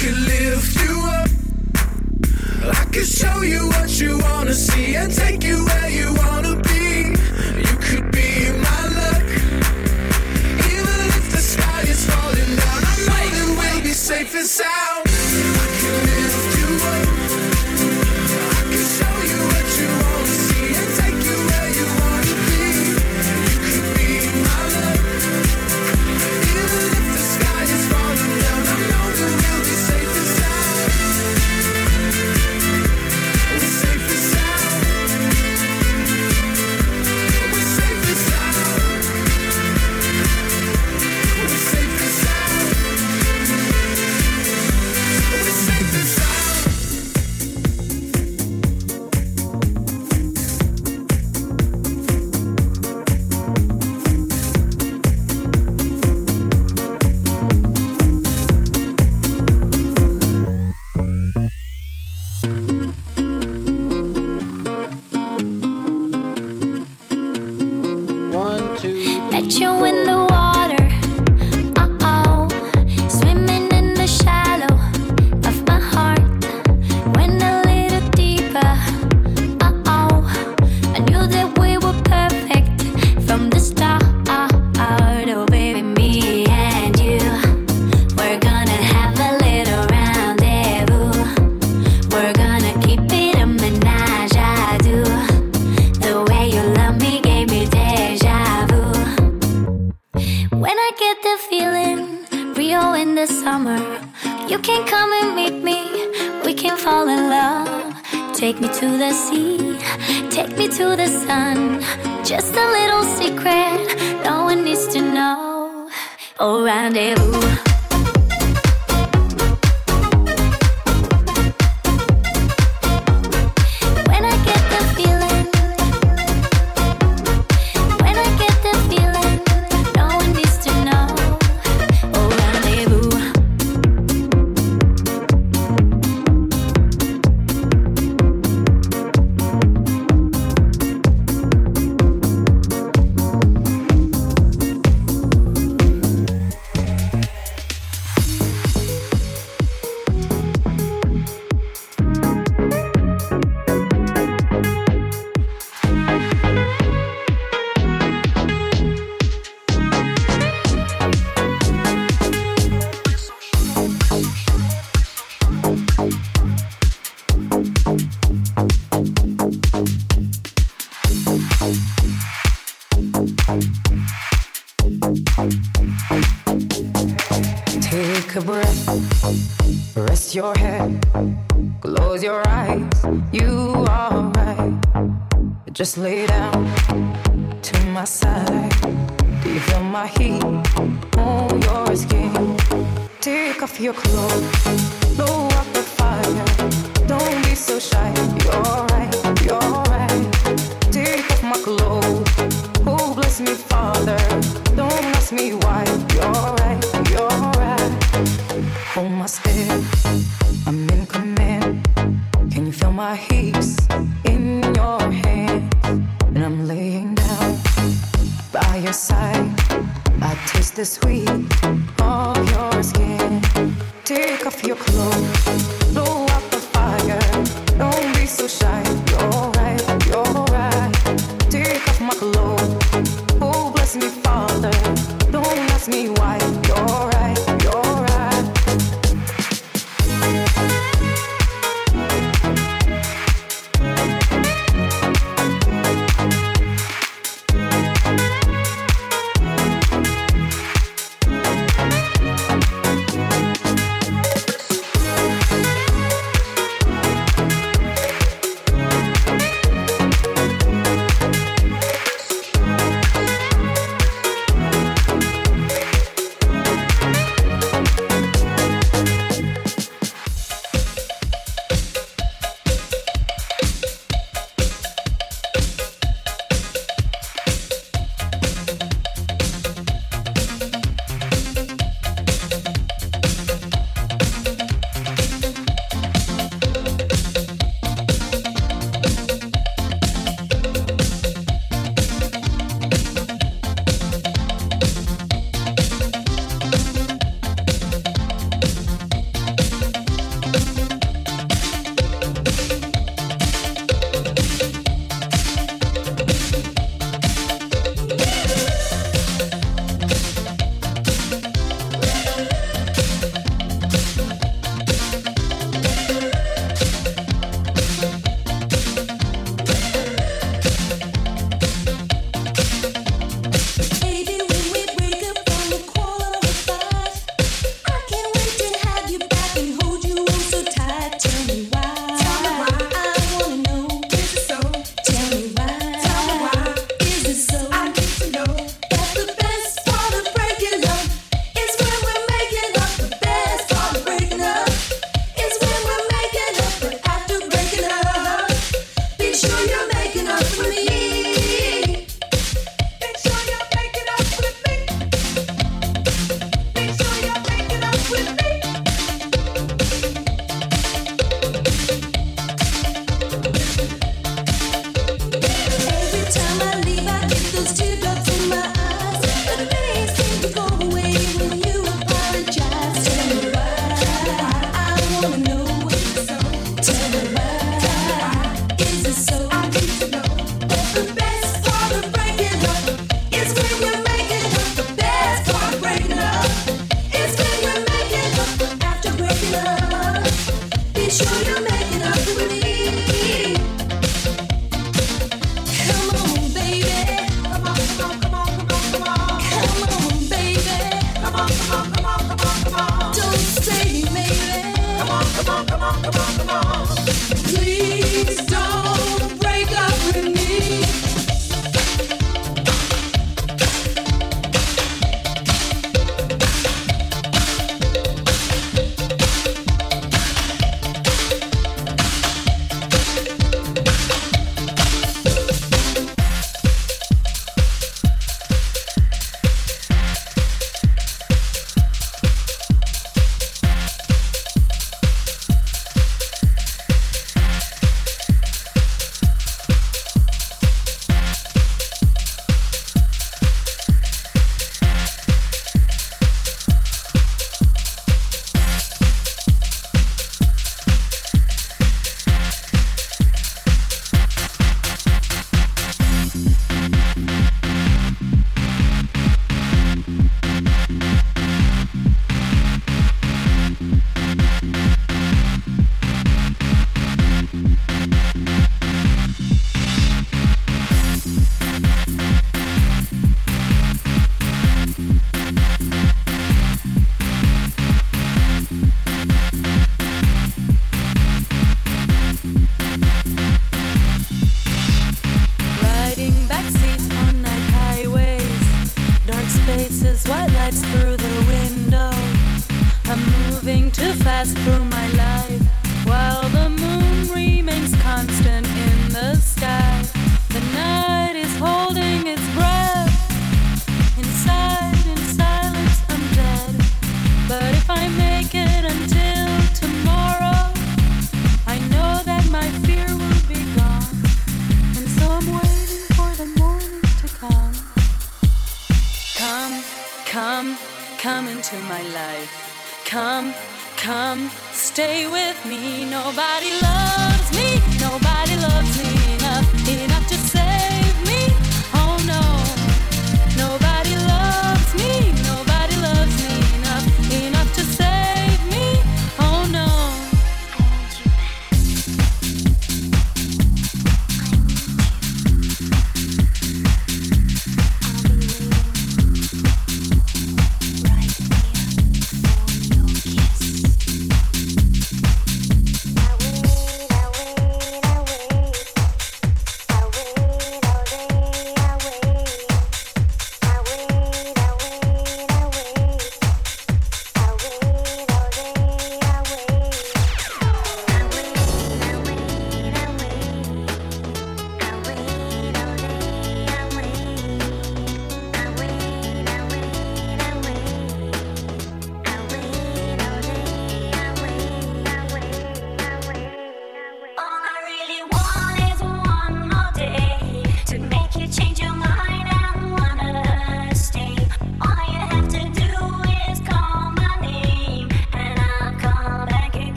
could lift you up. I could show you what you wanna see and take you where you wanna be. You could be my luck. Even if the sky is falling down, I know that we'll be safe and sound. I could lift you up. I could show you what you wanna see and take you where you wanna be. You could be my luck. Even if the sky is falling down, I know that we'll be safe and sound. We're safe and sound. We're safe and sound. We're safe and sound. We're safe and sound. Met you in the water, swimming in the shallow of my heart. Went a little deeper, I knew that we were perfect from the start. Oh baby, me and you, we're gonna have a little rendezvous. We're gonna keep it a menage à deux. The way you love me gave me deja vu. When I get the feeling, Rio in the summer, you can come and meet me, we can fall in love. Take me to the sea, take me to the sun. Just a little secret, no one needs to know. Oh, rendezvous. When I get the feeling, when I get the feeling, no one needs to know. Oh, rendezvous. Take a breath, rest your head, close your eyes, you are right. Just lay down to my side. Do you feel my heat on your skin? Take off your clothes, blow up the fire. Don't be so shy, you're right, you're right. Take off my clothes, oh bless me Father. Don't ask me why, you're right, you're right. Hold my step, I'm in command. Can you feel my hips in your hands? And I'm laying down by your side. I taste the sweet of your skin. Take off your clothes, blow up the fire. Don't be so shy, you're right, you're right. Take off my clothes, oh bless me Father. Don't ask me why, you're right, you're right.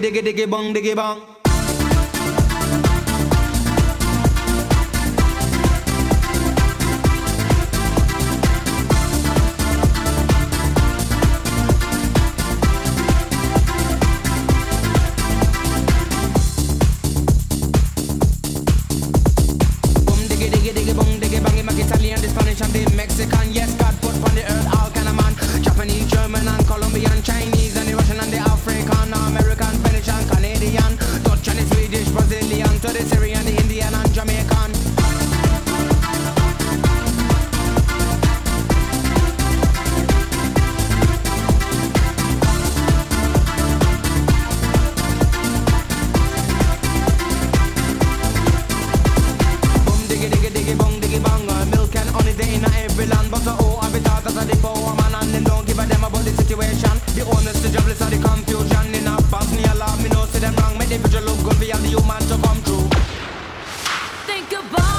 diggy diggy bong diggy bong. Italian, the Spanish and the Mexican. Yes, God put on the earth all kind of man. Japanese, German and Colombian, Chinese and the Russian and the African, American, Finnish and Canadian, Dutch and the Swedish, Brazilian, to the Syrian, the Indian and Jamaican. The honest, the jobless, and the confusion in a Bosnia, love me know, see them wrong. Make the picture look good for you, the human to come true. Think about